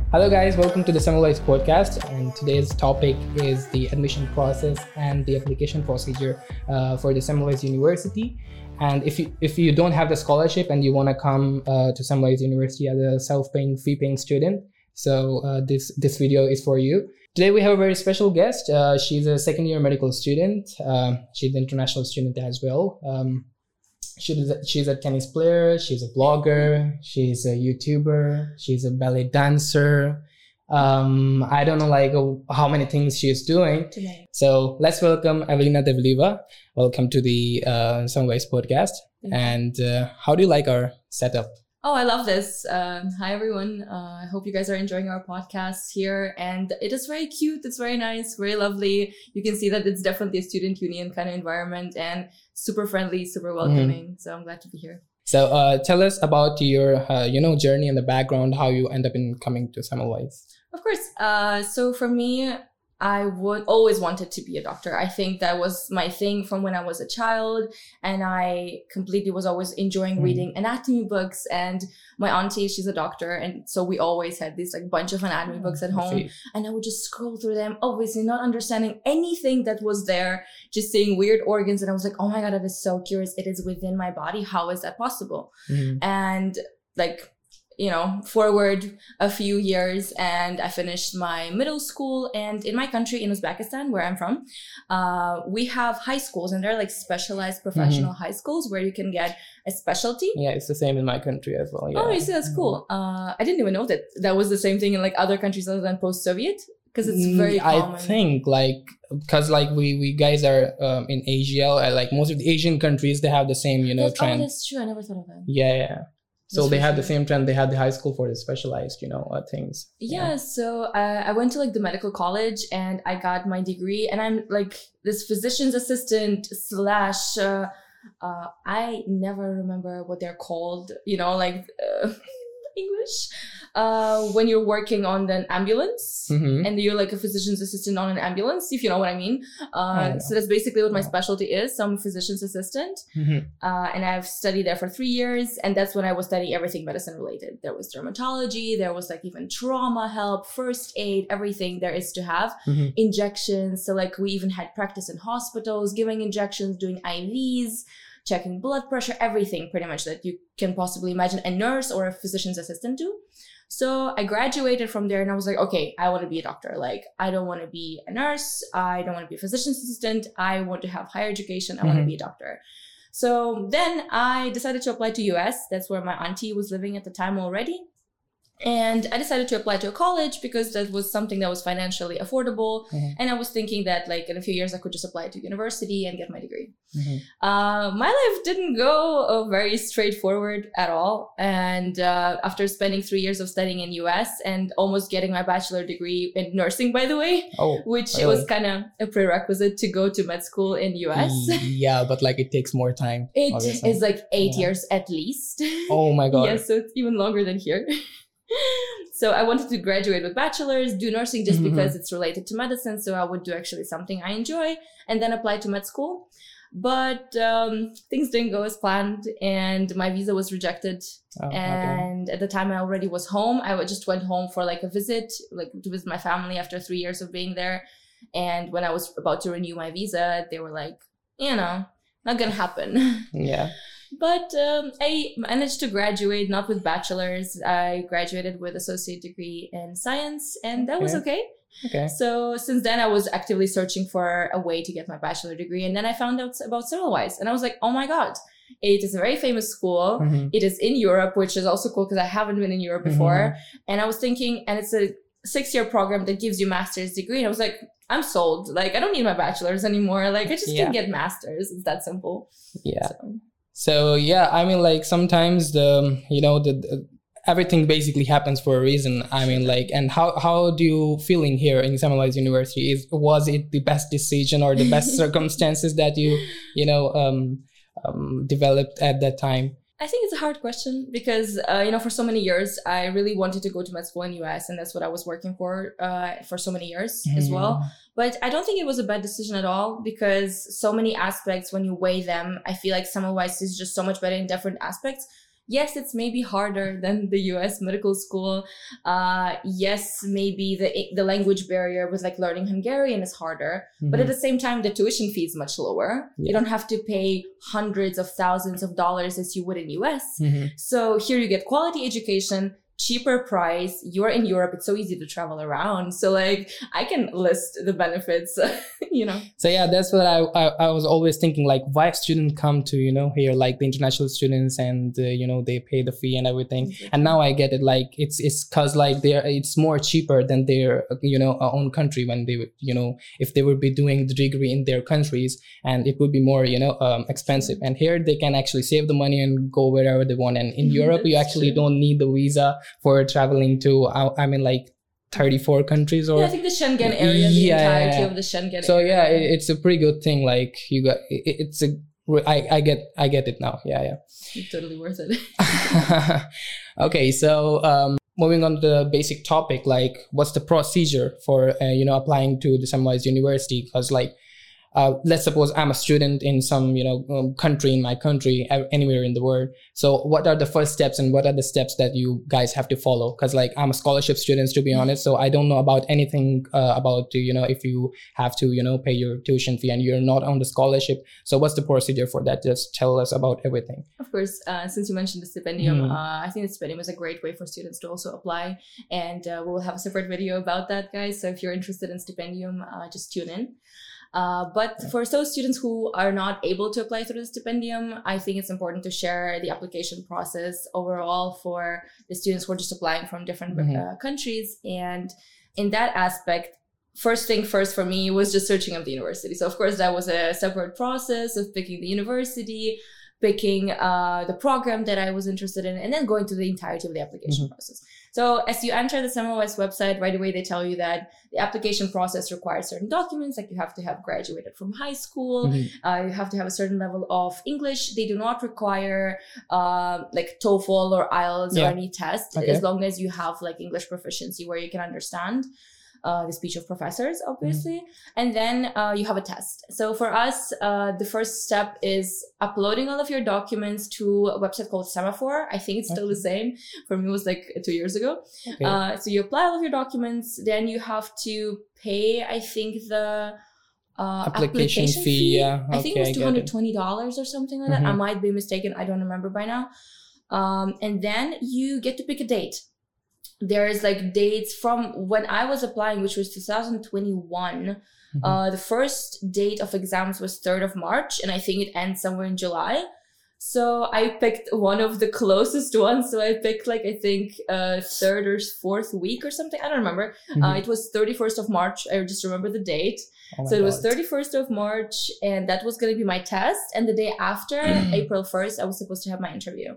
Hello guys, welcome to the Semmelweis podcast, and today's topic is the admission process and the application procedure for the Semmelweis University. And if you don't have the scholarship and you want to come to Semmelweis University as a self-paying, fee-paying student, so this video is for you. Today we have a very special guest. She's a second-year medical student. She's an international student as well. She's a tennis player, she's a blogger, she's a YouTuber, she's a ballet dancer. I don't know how many things she's doing today. So let's welcome Evelina Devliva. Welcome to the Semmelweis podcast. And how do you like our setup? Oh, I love this. Hi, everyone. I hope you guys are enjoying our podcast here. And it is very cute. It's very nice, very lovely. You can see that it's definitely a student union kind of environment and super friendly, super welcoming. So I'm glad to be here. So tell us about your journey and the background, how you end up in coming to Semmelweis. Of course. So for me, I would always wanted to be a doctor. I think that was my thing from when I was a child, and I completely was always enjoying reading anatomy books. And my auntie, she's a doctor, and so we always had this bunch of anatomy books at home, and I would just scroll through them, obviously not understanding anything that was there, just seeing weird organs, and I was like, oh my god, that is so curious. It is within my body. How is that possible? And forward a few years and I finished my middle school, and in my country, in Uzbekistan, where I'm from, we have high schools, and they're specialized professional high schools where you can get a specialty. Yeah, it's the same in my country as well. Yeah. Oh, you see, that's cool. I didn't even know that was the same thing in other countries other than post-Soviet, because it's very common. I think because we guys are in Asia, most of the Asian countries, they have the same, trend. Oh, that's true. I never thought of that. Yeah. So they have the same trend. They had the high school for the specialized, things. Yeah. So I went to the medical college and I got my degree, and I'm this physician's assistant / I never remember what they're called, English, when you're working on an ambulance and you're a physician's assistant on an ambulance, if you know what I mean. So that's basically what my specialty is. So I'm a physician's assistant, and I've studied there for 3 years, and that's when I was studying everything medicine related. There was dermatology, there was even trauma help, first aid, everything there is to have, injections. So we even had practice in hospitals, giving injections, doing IVs, checking blood pressure, everything pretty much that you can possibly imagine a nurse or a physician's assistant do. So I graduated from there and I was like, okay, I want to be a doctor. I don't want to be a nurse. I don't want to be a physician's assistant. I want to have higher education. I want to be a doctor. So then I decided to apply to US. That's where my auntie was living at the time already. And I decided to apply to a college because that was something that was financially affordable. And I was thinking that in a few years, I could just apply to university and get my degree. My life didn't go very straightforward at all. And after spending 3 years of studying in US and almost getting my bachelor degree in nursing, by the way, which really? It was kind of a prerequisite to go to med school in US. Yeah, but it takes more time. It is 8 years at least. Oh my God. Yeah, so it's even longer than here. So I wanted to graduate with bachelor's, do nursing just because it's related to medicine. So I would do actually something I enjoy and then apply to med school. But things didn't go as planned and my visa was rejected. And at the time I already was home. I just went home for a visit, to visit my family after 3 years of being there. And when I was about to renew my visa, they were not gonna happen. Yeah. But I managed to graduate, not with bachelor's. I graduated with associate degree in science, and that was okay. So since then, I was actively searching for a way to get my bachelor degree. And then I found out about Semmelweis, and I was like, oh my God, it is a very famous school. It is in Europe, which is also cool because I haven't been in Europe before. And I was thinking, and it's a 6-year program that gives you master's degree. And I was like, I'm sold. I don't need my bachelor's anymore. I just can get master's. It's that simple. Yeah. So yeah, sometimes the everything basically happens for a reason. And how do you feeling here in Semmelweis University? Was it the best decision or the best circumstances that you developed at that time? I think it's a hard question because, for so many years, I really wanted to go to med school in US, and that's what I was working for so many years as well. But I don't think it was a bad decision at all because so many aspects, when you weigh them, I feel like Semmelweis is just so much better in different aspects. yes, it's maybe harder than the US medical school. Yes, maybe the language barrier with like learning Hungarian is harder, but at the same time, the tuition fee is much lower. You don't have to pay hundreds of thousands of dollars as you would in US. So here you get quality education, cheaper price. You're in Europe. It's so easy to travel around. So like I can list the benefits, you know. So yeah, that's what I was always thinking, like why students come to, you know, here, like the international students, and you know, they pay the fee and everything. And now I get it, like it's cause like it's more cheaper than their, you know, own country, when they would, you know, if they would be doing the degree in their countries, and it would be more, you know, expensive. And here they can actually save the money and go wherever they want. And in Europe, you actually don't need the visa for traveling to, I mean, like 34 countries, or I think the Schengen area, the entirety of the Schengen so area. Yeah, it's a pretty good thing. Like you got, it's a, I get it now. Yeah. It's totally worth it. Okay, so moving on to the basic topic, like what's the procedure for you know, applying to the Semmelweis University? Because like let's suppose I'm a student in some, you know, country, in my country, anywhere in the world. So what are the first steps, and what are the steps that you guys have to follow? Because like I'm a scholarship student, to be honest, so I don't know about anything about, you know, if you have to, you know, pay your tuition fee and you're not on the scholarship. So what's the procedure for that? Just tell us about everything. Of course, since you mentioned the stipendium, I think the stipendium is a great way for students to also apply, and we will have a separate video about that, guys. So if you're interested in stipendium, just tune in. But for those students who are not able to apply through the stipendium, I think it's important to share the application process overall for the students who are just applying from different countries. And in that aspect, first thing first for me was just searching up the university. So of course, that was a separate process of picking the university, picking the program that I was interested in, and then going through the entirety of the application process. So as you enter the Semmelweis website, right away they tell you that the application process requires certain documents, like you have to have graduated from high school, you have to have a certain level of English. They do not require like TOEFL or IELTS or any test, as long as you have like English proficiency where you can understand the speech of professors, obviously. And then you have a test. So for us, the first step is uploading all of your documents to a website called Semaphore. I think it's still the same. For me, it was like 2 years ago. So you apply all of your documents, then you have to pay, I think, the application fee. I think it was $220 or something like that. I might be mistaken. I don't remember by now. And then you get to pick a date. There's like dates from when I was applying, which was 2021. The first date of exams was 3rd of March, and I think it ends somewhere in July. So I picked one of the closest ones. So I picked like, I think 3rd or 4th week or something. I don't remember. It was 31st of March. I just remember the date. So it was 31st of March, and that was going to be my test. And the day after, April 1st, I was supposed to have my interview.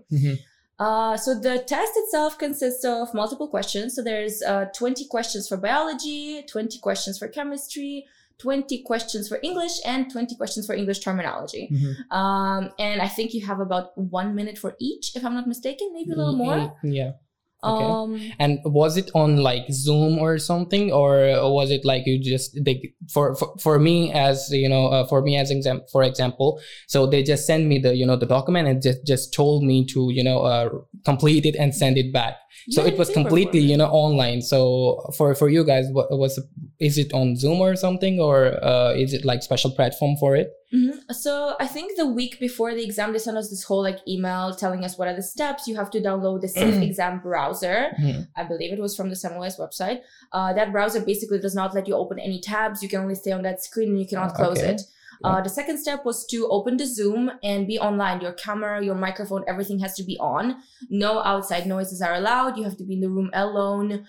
So the test itself consists of multiple questions. So there's 20 questions for biology, 20 questions for chemistry, 20 questions for English, and 20 questions for English terminology. And I think you have about 1 minute for each, if I'm not mistaken, maybe a little more. Okay. And was it on like Zoom or something, or was it like you just for me as you know, for example, so they just send me the, you know, the document and just told me to, you know, complete it and send it back. So it was completely, you know, online. So for you guys, is it on Zoom or something, or is it like special platform for it? So I think the week before the exam, they sent us this whole like email telling us what are the steps. You have to download the Safe Exam browser. I believe it was from the Semmelweis website. That browser basically does not let you open any tabs. You can only stay on that screen and you cannot close it. The second step was to open the Zoom and be online. Your camera, your microphone, everything has to be on. No outside noises are allowed. You have to be in the room alone.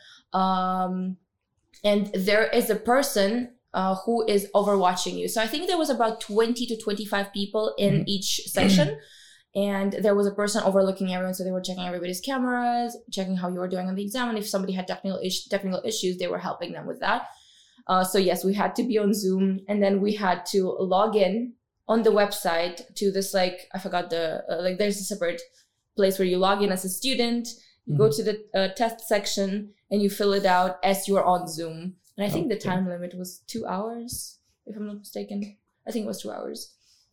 And there is a person who is overwatching you. So I think there was about 20 to 25 people in each section. And there was a person overlooking everyone. So they were checking everybody's cameras, checking how you were doing on the exam. And if somebody had technical issues, they were helping them with that. So yes, we had to be on Zoom, and then we had to log in on the website to this, like, I forgot like there's a separate place where you log in as a student, you go to the test section and you fill it out as you're on Zoom. And I think the time limit was 2 hours, if I'm not mistaken. I think it was 2 hours.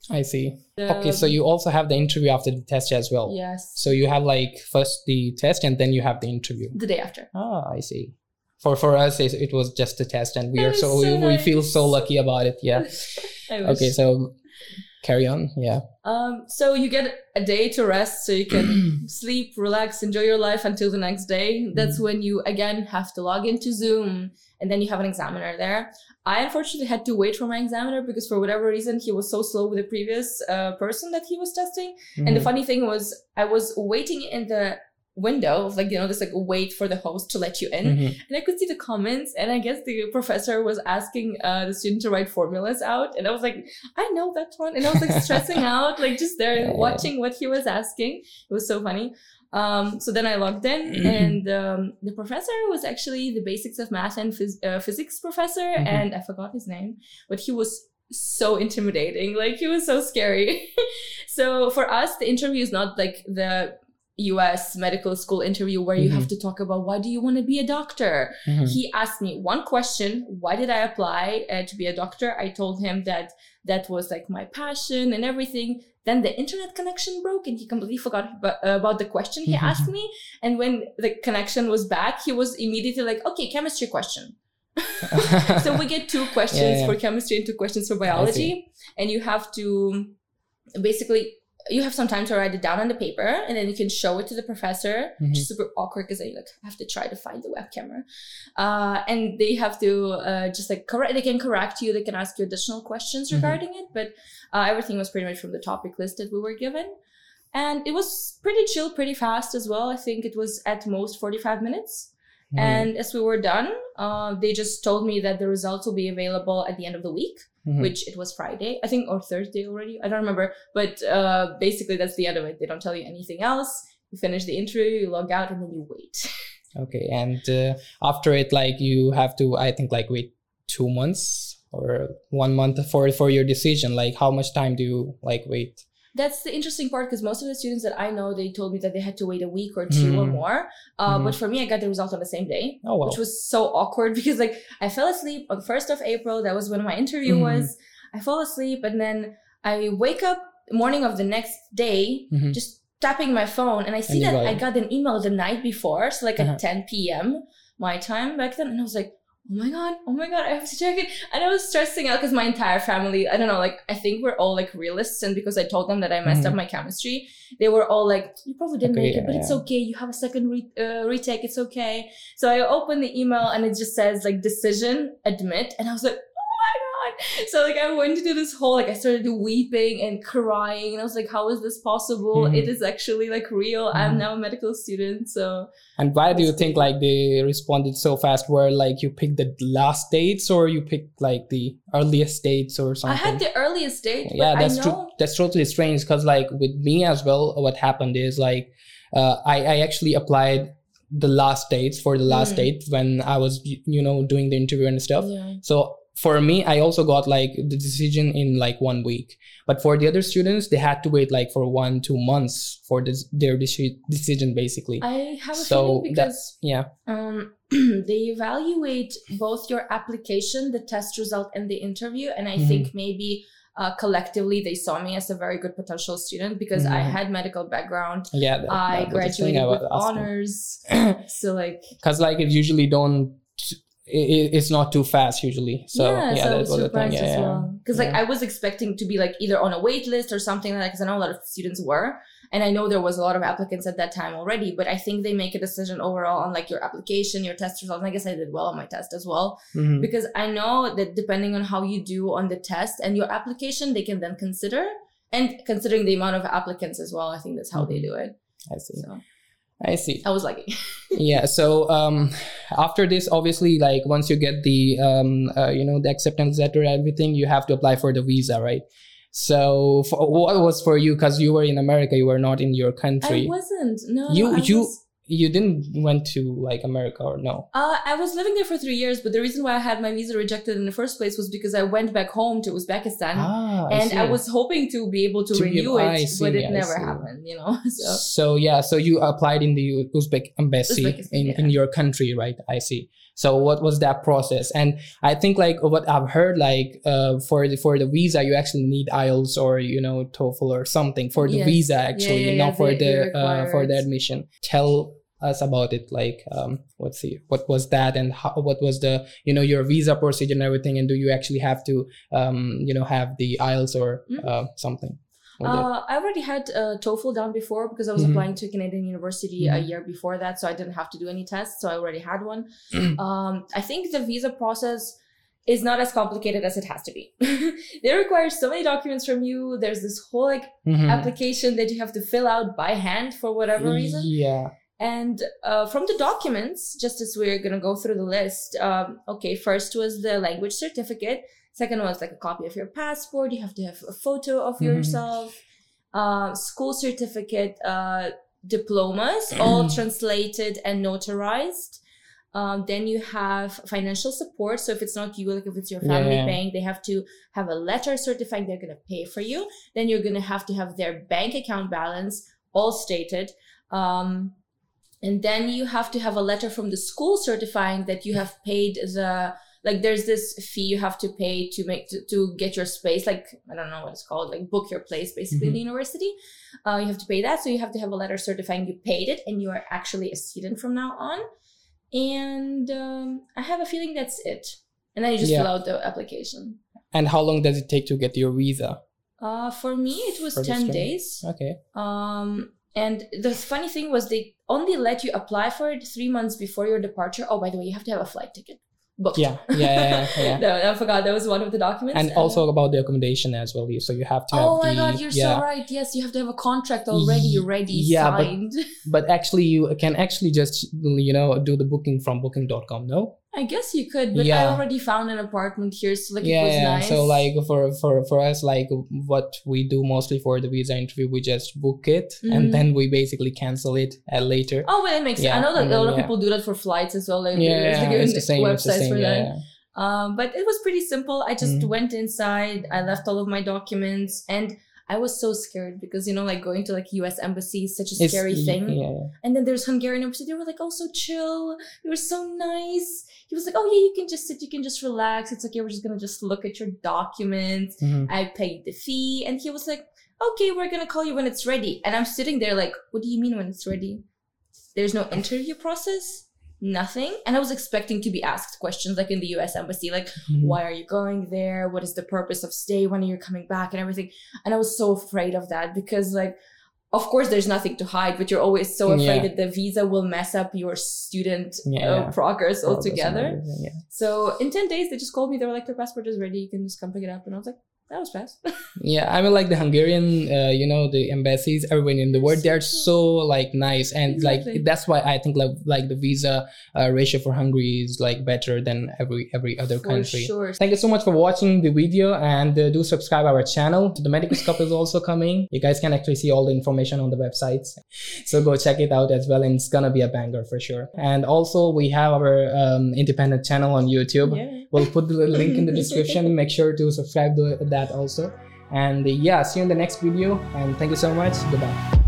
I see. Okay, so you also have the interview after the test as well. Yes. So you have like first the test and then you have the interview. The day after. Ah, I see. For us, it was just a test, and we feel so lucky about it. Yeah. Okay, so carry on. Yeah. So you get a day to rest, so you can sleep, relax, enjoy your life until the next day. That's when you again have to log into Zoom, and then you have an examiner there. I unfortunately had to wait for my examiner because for whatever reason he was so slow with the previous person that he was testing. And the funny thing was, I was waiting in the window of this wait for the host to let you in, and I could see the comments, and I guess the professor was asking the student to write formulas out, and I was like, I know that one, and I was like stressing out, like just there watching what he was asking. It was so funny. So then I logged in, and the professor was actually the basics of math and physics professor, and I forgot his name, but he was so intimidating, like he was so scary. So for us, the interview is not like the US medical school interview where you have to talk about why do you want to be a doctor. He asked me one question: why did I apply to be a doctor? I told him that was like my passion and everything. Then the internet connection broke and he completely forgot about the question he asked me. And when the connection was back, he was immediately like, okay, chemistry question. So we get 2 questions for chemistry and 2 questions for biology, and you have to basically, you have some time to write it down on the paper, and then you can show it to the professor, which is super awkward because I have to try to find the web camera. And they have to they can correct you, they can ask you additional questions regarding it, but everything was pretty much from the topic list that we were given. And it was pretty chill, pretty fast as well. I think it was at most 45 minutes. And as we were done, they just told me that the results will be available at the end of the week, which it was Friday, I think, or Thursday already. I don't remember. But basically, that's the end of it. They don't tell you anything else. You finish the interview, you log out, and then you wait. Okay. And after it, you have to, I think, wait 2 months or 1 month for your decision. How much time do you wait? That's the interesting part, because most of the students that I know, they told me that they had to wait a week or 2 or more. But for me, I got the result on the same day, which was so awkward because I fell asleep on 1st of April. That was when my interview was. I fall asleep, and then I wake up morning of the next day, just tapping my phone, and I see that I got an email the night before, so at 10 p.m. my time back then, and I was like, oh my god, I have to check it. And I was stressing out because my entire family, I don't know, I think we're all realists, and because I told them that I messed up my chemistry, they were all like, you probably didn't make it, but it's okay, you have a second retake, it's okay. So I opened the email and it just says decision, admit, and I was like, so I went into this whole I started weeping and crying, and I was like, how is this possible? It is actually real. I'm now a medical student. So. And why do you think they responded so fast? Where you picked the last dates, or you picked the earliest dates or something? I had the earliest date. Yeah, that's true. That's totally strange, because with me as well, what happened is I actually applied the last dates for the last date when I was doing the interview and stuff. Yeah. So for me, I also got the decision in 1 week. But for the other students, they had to wait for 1-2 months for their decision, basically. I have a feeling because they evaluate both your application, the test result, and the interview. And I think maybe collectively they saw me as a very good potential student because I had medical background. Yeah, I graduated with honors. So because it usually don't. It's not too fast usually, so that's what the thing. As well, because I was expecting to be either on a wait list or something like that, because I know a lot of students were, and I know there was a lot of applicants at that time already, but I think they make a decision overall on your application, your test results, and I guess I did well on my test as well, because I know that depending on how you do on the test and your application, they can then consider, and considering the amount of applicants as well, I think that's how they do it. I see. I see. I was lucky. Yeah. So after this, obviously, once you get the the acceptance letter, everything, you have to apply for the visa, right? So what was for you? Because you were in America, you were not in your country. I wasn't. No. You didn't went to America, or no? I was living there for 3 years, but the reason why I had my visa rejected in the first place was because I went back home to Uzbekistan, and I was hoping to be able to renew it, but it never happened, So you applied in the Uzbek embassy in your country, right? I see. So what was that process? And I think like what I've heard, like for the visa, you actually need IELTS or, you know, TOEFL or something for the visa actually, not for the admission. Tell us about it, like what was that, and what was the, you know, your visa procedure and everything, and do you actually have to you know, have the IELTS or something? I already had TOEFL done before because I was applying to Canadian University a year before that, so I didn't have to do any tests, so I already had one. I think the visa process is not as complicated as it has to be. They require so many documents from you. There's this whole like application that you have to fill out by hand for whatever reason. And from the documents, just as we're going to go through the list, okay, first was the language certificate. Second was like a copy of your passport. You have to have a photo of yourself, school certificate, diplomas, all translated and notarized. Then you have financial support. So if it's not you, like if it's your family paying, they have to have a letter certifying they're going to pay for you. Then you're going to have their bank account balance all stated. And then you have to have a letter from the school certifying that you have paid like there's this fee you have to pay to get your space. Like, I don't know what it's called, like book your place basically in the university. You have to pay that. So you have to have a letter certifying you paid it and you are actually a student from now on. And I have a feeling that's it. And then you just fill out the application. And how long does it take to get your visa? For me, it was 10 days. Okay. And the funny thing was they only let you apply for it 3 months before your departure. Oh, by the way, you have to have a flight ticket booked. Yeah. No, I forgot. That was one of the documents. And also about the accommodation as well. So you have to have my God, you're so right. Yes, you have to have a contract already signed. But actually you can actually just, you know, do the booking from booking.com, no? I guess you could, but I already found an apartment here, so like it was nice. So like for us, like what we do mostly for the visa interview, we just book it and then we basically cancel it later. Oh, well, that makes sense. I know that a lot of people do that for flights as well. Like, it's the same. Websites for that. But it was pretty simple. I just went inside. I left all of my documents, and I was so scared because, you know, like going to like US embassy is such a scary thing. And then there's Hungarian embassy. They were like, oh, so chill. They were so nice. He was like, oh yeah, you can just sit, you can just relax. It's okay, we're just gonna just look at your documents. I paid the fee. And he was like, okay, we're gonna call you when it's ready. And I'm sitting there like, what do you mean when it's ready? There's no interview process? Nothing. And I was expecting to be asked questions like in the US embassy, like, why are you going there? What is the purpose of stay? When are you coming back? And everything. And I was so afraid of that because, like, of course there's nothing to hide, but you're always so afraid that the visa will mess up your student progress altogether. So in 10 days, they just called me. They were like, your passport is ready. You can just come pick it up. And I was like, that was fast. I mean, like the Hungarian, you know, the embassies, everyone in the world, they're so like nice. And like, that's why I think like the visa ratio for Hungary is like better than every other country. Sure. Thank you so much for watching the video, and do subscribe our channel. The Medicus Cup is also coming. You guys can actually see all the information on the websites. So go check it out as well. And it's gonna be a banger for sure. And also we have our independent channel on YouTube. We'll put the link in the description. Make sure to subscribe to that also. And see you in the next video, and thank you so much. Goodbye.